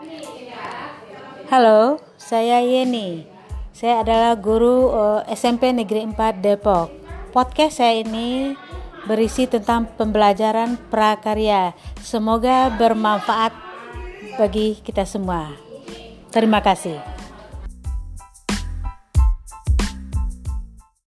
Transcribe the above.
Halo, saya Yeni. Saya adalah guru SMP Negeri 4 Depok. Podcast saya ini berisi tentang pembelajaran prakarya. Semoga bermanfaat bagi kita semua. Terima kasih.